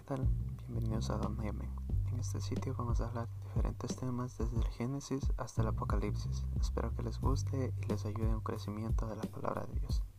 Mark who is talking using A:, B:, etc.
A: tal? Bienvenidos a Don Yemen. En este sitio vamos a hablar de diferentes temas desde el Génesis hasta el Apocalipsis. Espero que les guste y les ayude en un crecimiento de la palabra de Dios.